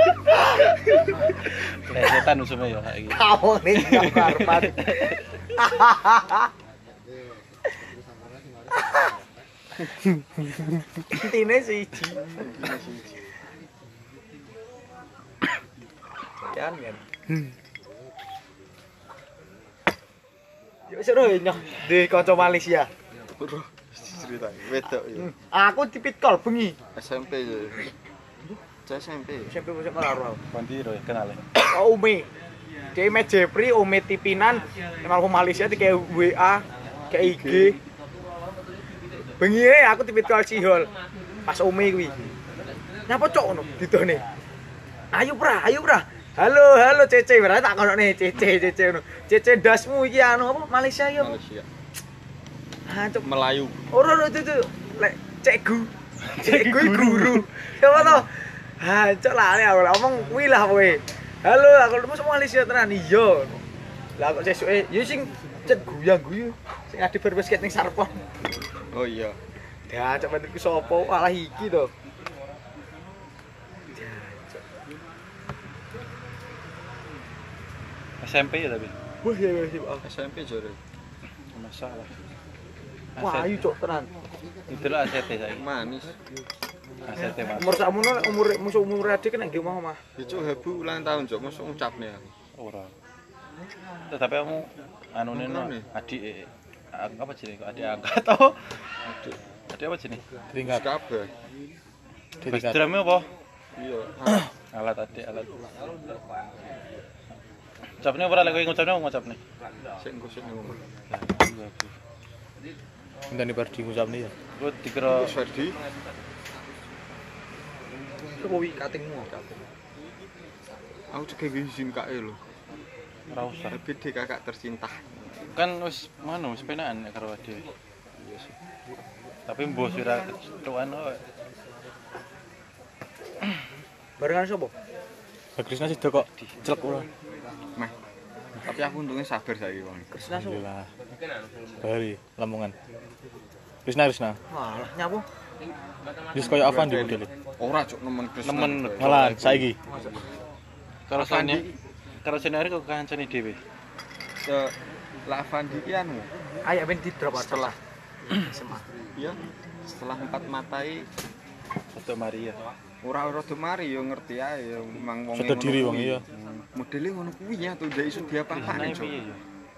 Setan usume yo saiki. Kamu nih karpat. Intine siji. Kan. Yo seru nyoh di kanca Malaysia. Cerita wedok ya. Aku dipit kol bengi. SMP ya. bocah SMP. SMP bocah ora ora. Bandiro ya kenal. Oh Umi. Dia Umi Jepri, Umi Tipinan, emang Malaysia di kayak WA, kayak IG. Bengi aku tipit ke Alcihol. Pas Umi kuwi. Nyapa cok ngono ditone. Ayo pra. Halo Cece, berarti tak kono nih Cece ngono. Cece dasmu iki anu apa Malaysia yo. Malaysia. Ha cok Melayu. ora itu. Lek cekgu guru. Coba to. Ha cok lali aku ngomong kuwi lah kowe. Halo, aku masuk Malaysia tenan iya. Lah kok sesuke ya sing cet guyang-guyu sing ade berbasket ning Sarpon. Oh iya. Ya cok bentukku sapa alah iki to. SMP ya tapi. Wah ya SMP jare. Masalah. wah ayu cok tenan. Itulah ACT saiki. Manis. ACT Mas. Umur sakmono umur adik kan nggih mau mah. Ya cuk hebu ulang tahun cuk mosok ngucapne aku. Ora. Tetapi kamu anu Anu neno nih. adik apa jenenge kok adik angkat atau adik apa jenenge? Tingkat. Kabeh. Tingkat. Drama apa? Iya. Alat adik alat. Ucapne ora lek kowe ngucapne ngucapne. Sik engko sik ngomong. Ngene Pardi ngucapne ya. Lu dikira Wis Ferdi. Kuwi katingmu. Aku cek izin kae lho. ora usah. Gede kakak tercinta. Kan wis mana wis penakan nek karo dhewe. Iya sih. Tapi mbok ora ketuan kok. Barengan sapa? Krisna sih kok celek ora. Meh. Tapi aku untungnya sabar saiki wong. Krisna sapa? Alhamdulillah. Bali Lamongan. Krisna. Walah nyapu. Wis koyo Avandi modele. Ora cuk nemen Krisna. Nemen Malah saiki. karo Avandi. karo senari kok kancane dhewe. Ke Lavandi ki anu. Ayo ben di drop setelah SMA. Iya. Setelah 4 matai Foto Maria. ora rada mari yo ngerti ae yo mang wong Sadar diri wong iya. Modele ngono kuwi ya tuh ndak iso diapa-apane cuk. Piye ya?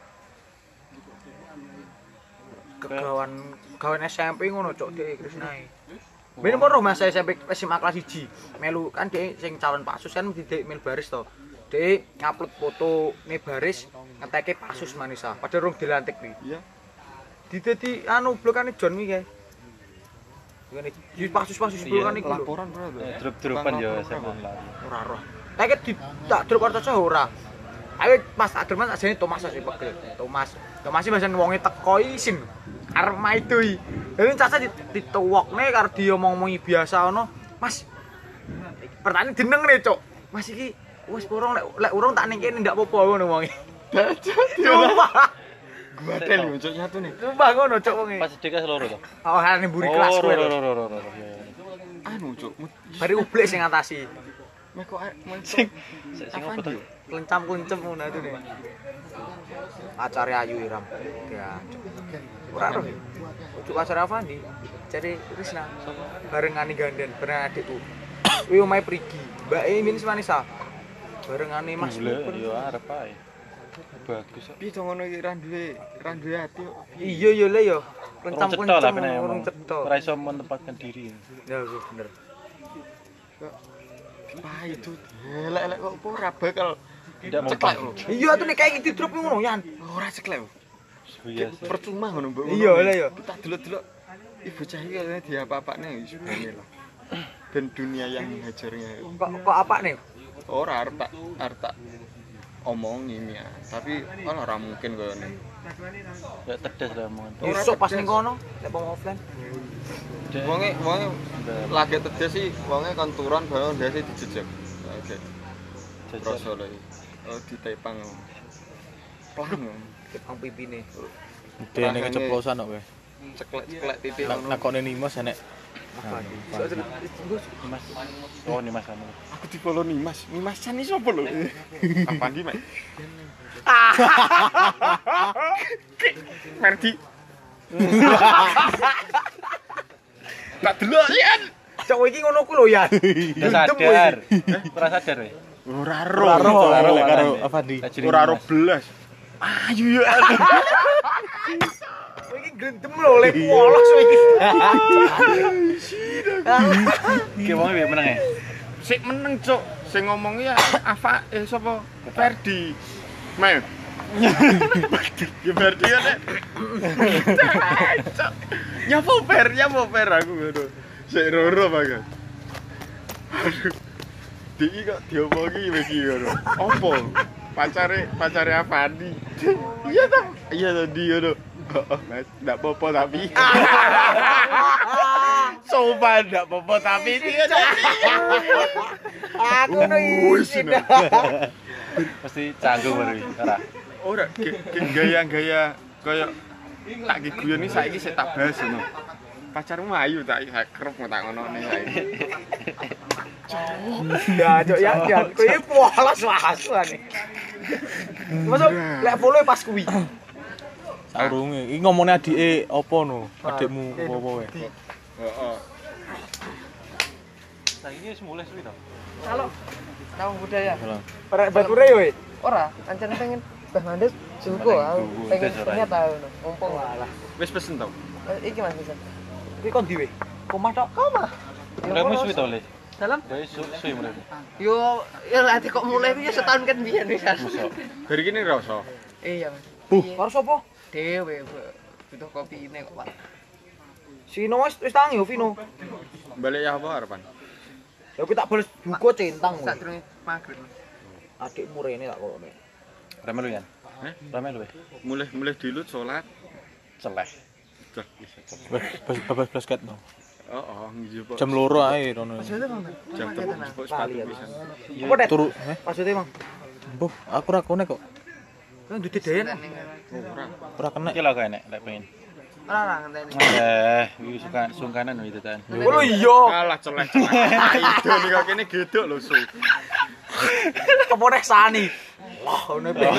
Gawan SMP ngono cok dhek Krisnae. Ben pernah Mas SMP SMA kelas 1 melu kan dhek sing calon pasus kan mesti dhek melu baris to. Dhek ngupload foto ne baris ngeteke pasus Manisa padahal rung dilantik kuwi. Iya. Dadi anu blokane John kuwi kae. Ngene di pasus-pasus blokan iku lho. Laporan bro. Drop-dropan ya SMA lah. Ora roh. Tapi tak drop kartu ora. Ayo Mas tak drop Mas ajane Thomas sing pegel. Thomas sih bahasa wonge teko isin. Arep maidoi. Dadi caca dituwokne karo diomong-omongi biasa ngono. Mas. Pertanyaan jeneng ne, Cuk. Mas iki wis urung lek urung tak ning kene ndak apa-apa ngono wonge. Sumpah. Badel yo cuk nyatu nih. Sumpah ngono, Cuk wonge. Pas DK loro to. Oh, harane mburi kelas kowe. Loro. Anu cuk. Bari ublek sing ngatasi. Meh kok Sing apa to? Lencam-lencem ngono itu nih. Acare ayu Iram. Ya. Ora roh. Ujuk acara Avandi. Jadi Krisna barengane ganden, bareng adikku. Kuwi omahe Prigi. Mbake Minis Manisa. Barengane Mas. Yo arep ae. Bagus kok. piye to ngono iki ra duwe ati kok. Iya yo le yo. Urung cetha lah peneh ngomong. Ora iso menempatkan diri. Ya iya bener. Wah itu elek kok opo ora bakal Tidak ceklek mempan. lho. Iya tuh nek kayak gitu drop ngono Yan. Ora ceklek lho. Iya sih. Percuma ngono mbok. Iya lah yo. Tak delok-delok ibu cah iki kayaknya diapa-apane wis bene lah. Ben dunia yang menghajarnya. Kok apa nih? Ora arep tak omongin ya. Tapi kan ora mungkin koyo ngene. Ya tedes lah omongan. Besok pas ning kono nek wong offline. Wonge lagi tedes sih wonge kon turun bae ndase dijejeg. Oke. Terus oleh ditepang. Plang. Kepang pipine. Dene keceplosan kok kowe. Ceklek titik ngono. Nakone Nimas enek. Mas. Oh, ini Mas anu. Aku di-follow Nimas. Nimasan iki sapa lho? Apa ndi, Mek? Merdi. Tak delok yen. Cok iki ngono ku lho Yan. Udah sadar. Ora sadar kowe. Ora Karo karo karo makane. Avandi. Ora ro belas. Ayo ya. Kowe iki gendem lho lek polos kowe iki. Ki wong piye menenge? sik meneng, Cuk. Sing ngomong ya sapa? Ferdi. Mel. Ya Ferdi ya nek. Nyapa Fer aku ngono. Sik roro banget. Aduh. Diki kok diomongi iki ngono. Apa? Pacare Afandi. Iya ta? Iya ta dia ngono. Mas, enggak apa-apa tapi. Sopan enggak apa-apa tapi iki kan. Aku no isin. Pasti canggung baru ora. Ora gaya-gaya kaya tak giguyoni saiki sik tak bahas ngono. Pacarmu ayu tak kerep tak ngono ne saiki. Ya, Cok ya, kowe polos wasuane. Masuk lek follow pas kuwi. Saurunge. Iki ngomongnya adike apa no? Adikmu apa wae? Heeh. Saiki wis mulai suwi to. Kalau tahu budaya. Perek bature yo. Ora, ancen pengen Bah Mandes jugo aku pengen ternyata ngono. Mumpung lah. Wis pesen to? Iki Mas Bisa. Kuwi kon diwe. Omah tok. Omah. Mulaimu suwi to, Le? Dalam Gawe suwi mulai. yo ati kok mulai ku ya setahun kan biyen wis. Mosok. Dari kene rasa. Iya Mas. Karo sapa? Dewe butuh kopi ini kok Pak. Sino wis tangi yo Vino. Balik ya apa harapan? Ya kuwi tak bales buku centang. Sadurunge magrib. Adikmu rene tak kokne. Rame lu ya? Heh? Rame lu. Mulai dilut salat. Celeh. Babas basket no. Oh, ngijo Jam 2 ae rono. Maksudnya Bang. jam tepuk sepatu pisan. Apa det? Turu, Maksudnya Mang. Mbuh, aku ra kone kok. Kan dudu dayan. Ora. Ora kena. Iki lho kok enek lek pengen. Ora ngenteni. Iki sungkanan itu tan. Oh iya. Kalah celeh. Itu nih kok kene gedok lho su. Apa nek sani? Wah, ngono piye?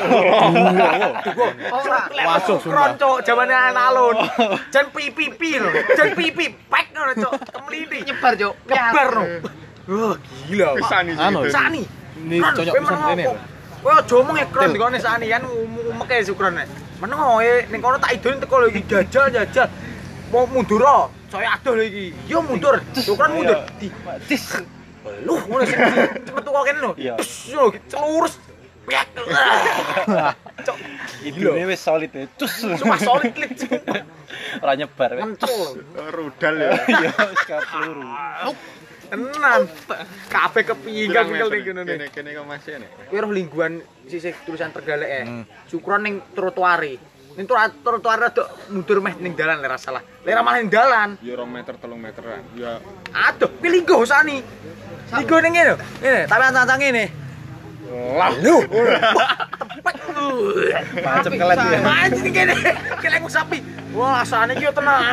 Ora. Wasuh sumpah. Kronco jamane anak alun. Jan pipi lho. Jan pipi pek ngono, Cok. Kemliti Nyebar, Cuk. nyebar no. Wah, gila. Pisani Anu, sih. Sani. Ini cocok pisan rene. Kowe aja omong ekron dikone sani kan umeke syukuran nek. Meneng ning kono tak idoni teko lho iki jajal. Mau mundur ah. Saya adoh lho iki. Yo mundur. Syukuran mundur. Tis. Lu ngono sih. Cepet tuku kene lho. Iya. Yo celurus. Piak. Cok. Idune wis solid e. Cus. Cuma solid klik. Ora nyebar. Mentel. Rudal ya. Iya, wis peluru. Tenan. Kabeh kepinggal ning kene. Kene kok masih nek. Kowe roh lingguhan sisih tulisan Tergalek Syukuran ning trotoare. Ning trotoare rada mundur meh ning dalan lek ra salah. Lek ra malah ning dalan. Ya 2 meter 3 meteran. Ya Aduh, kuwi linggo sani. Linggo ning ngene lho. Ngene, tapi ancang ngene. Lah lu. Macem kelet ya. Anjing kene. Kelek sapi. Wah, asane iki yo tenanan.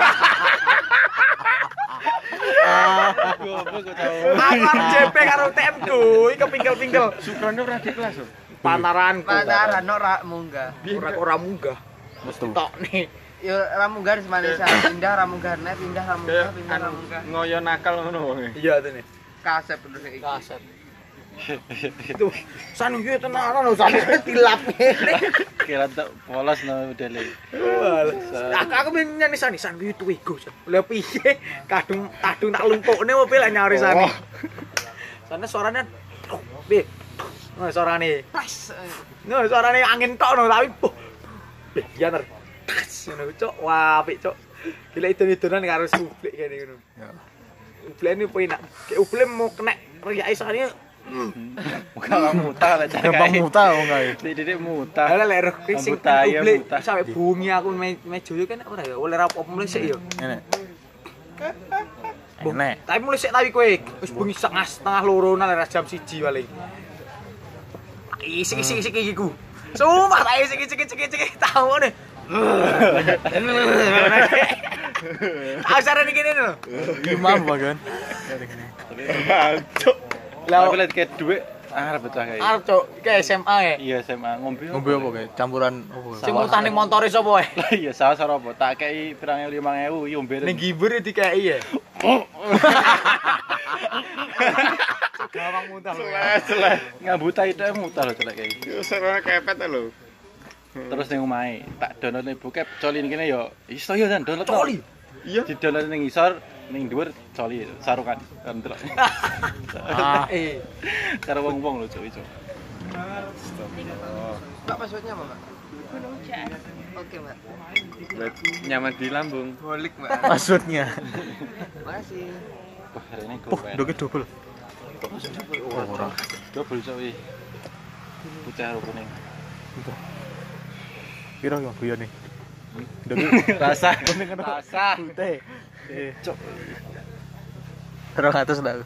Goblok kok tau. Aku JP karo TM ku, iki kepingkel-pingkel. Sukrane ora di kelas lho. Pantaranku. Pantaran ora munggah. Ora munggah. Mesti. Tok nih. Yo ora munggah semanisa. Pindah ra munggah nek pindah ra munggah, Kayak pindah ra munggah. ngoyo nakal ngono wonge. Iya tene. Kasep terus iki. Kaset. Itu sani iki tenanan lho sani tilap ngene. Kira tak polos no modele. Aku pengen nyanyi sani sani itu ego. Lha piye kadung tak lumpukne opo lek nyari sani. Sana suaranya piye? Nah suarane. Nah suarane angin tok no tapi ya ner. Ngono cok, wah apik cok. Gila idon-idonan karo Sublek kene ngono. Ya. Ublene penak. Kayak uble mau kena riyake sane. Muka mutah lah cak. Gampang mutah wong kae. Didik mutah. Lah lek roh sing Buta, ya, uble buta. sampe bunyi aku mejo yo kan ora ya oleh rapopo mulai sik yo. Ngene. Enek. Tapi mulai sik tapi kowe wis bengi setengah 2 nang jam 1 paling. Isi iki ku. Sumpah tak isi tahu nih. Aku saran gini lho. Iki mampu kan. Bancuk. Lah aku lihat kayak duit arep betah kayak. Arep cok, iki SMA ya. Iya SMA ngombe. Ngombe apa kae? Campuran apa? Sing mutah ning montore sapa wae? Lah iya salah apa? Tak kei pirang 5.000 iki ngombe. Ning gibur dikeki ya. Gawang muntah lho. Seleh. Ngabuta itu mutah lho celek kayak. Yo serone kepet lho. Terus ning omahe tak download ning bokep coli ning kene yo iso yo kan download. Coli. Iya. Di download ning isor ning dhuwur coli sarukan kan delok. Karo wong-wong lho cuk iso. Mbak passwordnya apa, Mbak? Oke, Mbak. Buat nyaman di lambung. Bolik, Mbak. Maksudnya. Makasih. Wah, ini Doke double. Oh, ora. Double cuk iki. Putih karo kuning. Piro yo guyone? Doke Rasa. rasa. Putih. Cok. 200 ndak.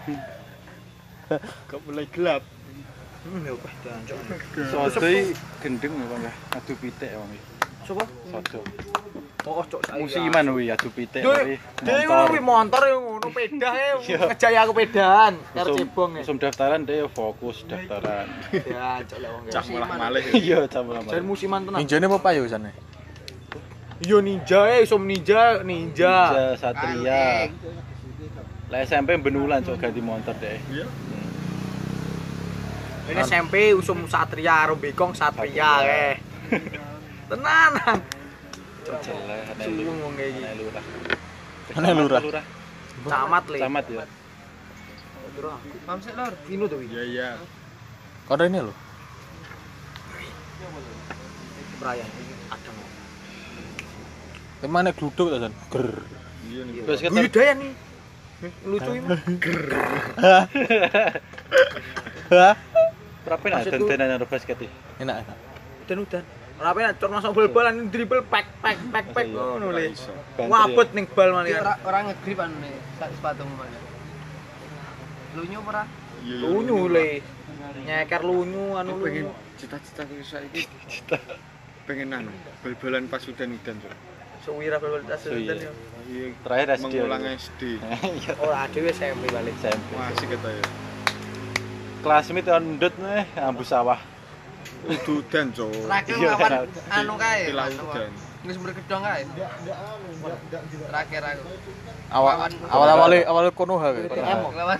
Kok mulai gelap. Ya wah dancuk. Soto iki gendeng ya, Bang. Adu pitik ya, Bang. Sopo? Soto. Oh, cok saya. Musiman kuwi adu pitik Dhewe tapi ngono kuwi motor yo ngono pedah ngejaya aku pedahan karo cebong ya. Usum daftaran deh fokus daftaran. Ya, cok lek wong. Cah malah malih. Iya, sama Jan musiman tenan. Ninjane apa payu sana? Yo ninja usum ninja. Ninja Satria. Lah SMP benulan cok ganti motor deh. Iya. Ini SMP usum Satria karo Bekong Satria kae. Tenanan. Jelek ana Suwi lu. ngomong kayak gini. Ana lurah. Ana lurah. Camat le. Camat ya. Mam sik, Lur. Kino tuh iki. Iya iya. Kode ini lho. Brian adem. Temane gluduk ta, San? Ger. Iya nih. Terus kita Budaya nih. Lucu ini. berapa nak Maksudku- dandanan karo basket iki? Enak enak. Udan. Ora penak cok masuk bal-balan dribble pek ngono le. Iso. Wabet ning bal Iki malian. ora ngegrip anu nih, sepatumu Mas. Lunyu ora? Iya. Lunyu le. Nyeker lunyu anu Aku pengen lunyu. cita-cita ku saiki. Pengen anu, bal-balan pas udan-udan, Cuk. Suwira bal-bal tas Suwi. udan yo. Iya. Terakhir SD. Mengulang SD. Iya, Ora dhewe SMP balik. SMP. Wah, asik kata ya. Kelasmit ndut nih ambu sawah. Udan, Cuk. Terakhir Iya, lawan iya. anu kae. Pilau anu, udan. Wis berkedong kae. Terakhir aku. Awal Konoha kae. TM. Lawan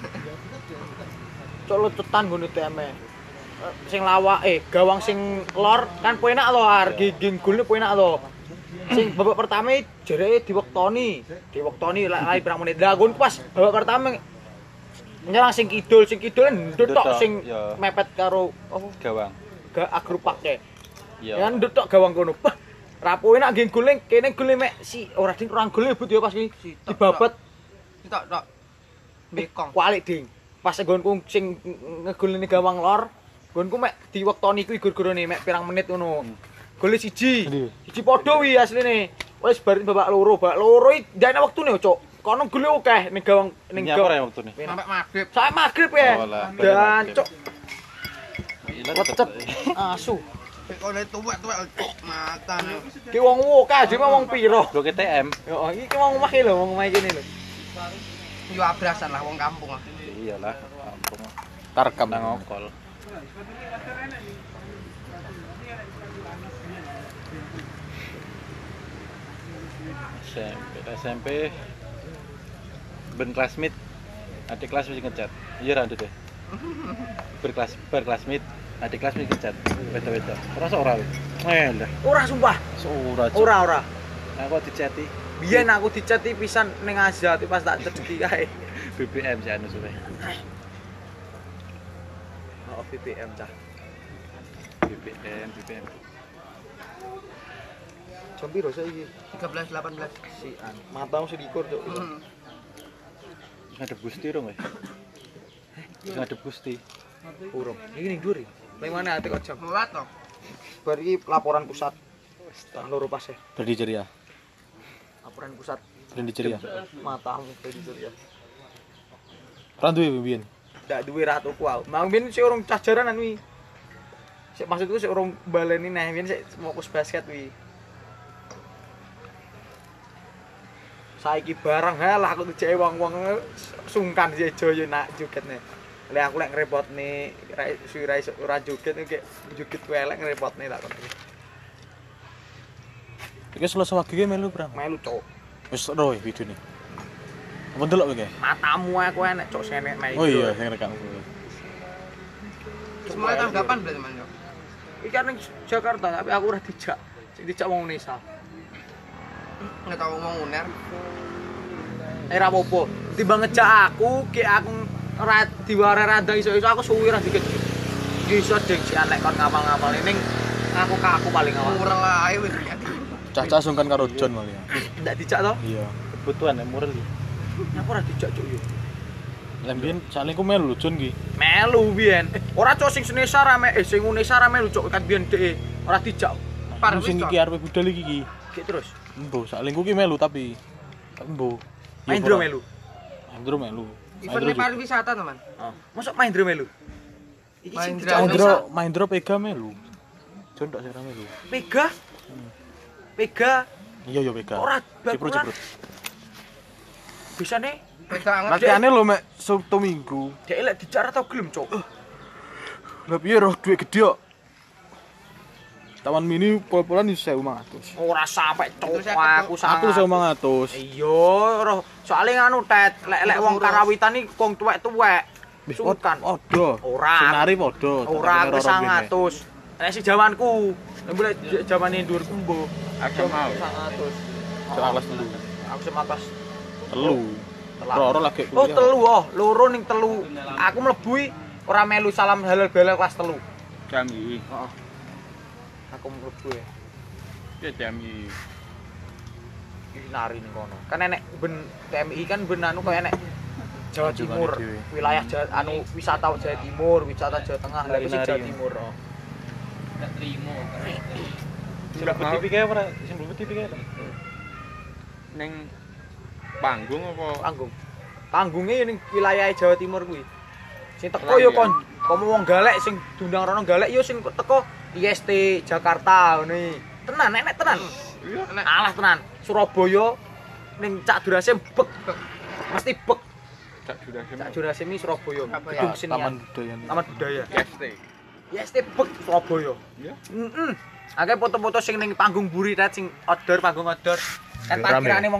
Cok lucutan ngene TM. Sing lawak gawang sing lor kan penak lho harga ginggulne penak lho. Sing babak pertama jereke diwektoni lali pirang menit. Lah gon pas babak pertama nyerang sing kidul ndut tok sing ya. mepet karo apa Gawang. agrupake. Iya. Ya ndut tok gawang kono. Bah, rapo enak nggih gule kene gule mek si ora ding kurang gule but ya pas iki dibabet tok. Bekong. kualik ding. Pas nggonku sing ngegulne gawang lor, nggonku mek diwektoni kuwi gur-gurane mek pirang menit ngono. Gole siji. Siji padha wi asline. Wis bar babak loro iki ndane wektune cuk. Kono gule akeh ning gawang ning Nyapa ya waktu nih? Sampai maghrib. Saya magrib ya. Oh, lah. Dan cuk Gila, lecet asu. Oleh tuwek-tuwek mata. Ki wong akeh dhewe wong piro? Blok TM. Yo iki wong omah iki lho, wong omah kene lho. Yo abrasan lah wong kampung ah. Iyalah, kampung. Tarkam Nang ngokol. SMP ben classmate adik kelas mesti ngechat iya ra deh berkelasmate adik kelas mesti ngechat beda-beda rasa ora lho lah Ora sumpah. ora Cuk. Ora. aku diceti Biyen aku diceti pisan ning Azat pas tak cedeki kae. BBM sih anu suwe Oh, BBM cah. BBM Jam piro saiki? 13 18. Sian. Matamu sedikur cuk. ngadep Gusti rong ya ngadep Gusti Urung. Iki ning dhuwur. Ning mana ati kok jam? Mulat toh. Bar iki laporan pusat. Tang loro pas e. Berdi ceria. Laporan pusat Berdi ceria. matamu kreditur ya. Ora duwe biyen. Ndak duwe ratuku aku. Mang biyen sik urung cah jaranan wi. Sik maksudku sik urung baleni neh, biyen sik fokus basket wi. Saiki bareng halah aku dijake wong-wong sungkan sejo yo nak jogetne. Lek aku lek ngrepotne suwi iso ora joget iki joget ku elek ngrepotne tak kon. Iki selesai wagi ki melu Bang. Melu cok. Wis ro videone. Apa ndelok iki? Matamu aku enek cok senek main. Oh iya, sing rekam. Mulai tanggapan berarti Mas. Iki kan ning Jakarta tapi aku ora dijak. Sing dijak wong Unesa. Nggak tahu mau uner. Ora apa-apa. Timbang ngejak aku, ki aku ora diware randang iso-iso aku suwi ra dikit. Iso ding si lek kon ngapal-ngapal ning aku paling awal. Kurang ae wis. Caca sungkan karo John malah. Ndak dijak to? Iya. Kebutuhan ya moral iki. Aku ora dijak cuk yo. Lah mbiyen sakling ku melu John ki. Melu biyen. Ora cuk sing Senesa rame sing Unesa rame melu cuk kan biyen dhek ora dijak. Par sing iki arep budal iki. Ki terus. Embo sakling ku ki melu tapi embo. Maindro melu. Maindro melu. Event pariwisata teman. Oh, mosok Maindro melu. Iki sing Maindro. Maindro Pega melu. John tak sira melu. Pega. Pega Iya yo Pega. ora Ciprut. Bisane Beda anget. Latihannya lho mek Sabtu Minggu. dhek lek dijak ora tau gelem cuk. Lah piye roh duit gede kok. Taman mini pol-polan 1.500. Ora sampe cuk Terus aku Aku 1.500. Iya, roh soalé nganu tet, lek wong karawitan iki wong tuwek-tuwek. Wis Sungkan. padha. Ora. Sing nari padha. Ora aku 100. Nek si jamanku, nek boleh jamane dhuwurku mbo. Aku mau. 100. Kelas dulu. Aku sema kelas Telu. Loro lagi Oh, kuliah. telu oh, loro ning telu. Aku mlebu ora melu salam halal balal kelas 3. Jami. Heeh. Aku mlebu ya. Ya jami. Iki nari ning kono. Kan enek ben TMI kan ben anu kaya enek Jawa Timur, dhewe. wilayah anu wisata Jawa Timur, wisata Jawa Tengah, lha iki Jawa Nari. Timur. Oh. Sing mlebu TV kae ora, sing mlebu TV kae. Ning panggung apa? Panggung. Panggungnya ning wilayah Jawa Timur kuwi. Sing teko yo kon, komo wong galek sing diundang rono galek yo sing teko IST Jakarta ngene. Tenan enek tenan. Iya. Alah tenan. Surabaya ning Cak Durasim bek. Mesti bek. Cak Durasim. Cak Durasim iki Surabaya. Apa ya? Gedung Taman senian. budaya. Taman budaya. ST. IST bek Surabaya. Iya. Heeh. Akeh foto-foto sing ning panggung buri tet sing outdoor, panggung outdoor. Kan Rame. parkirane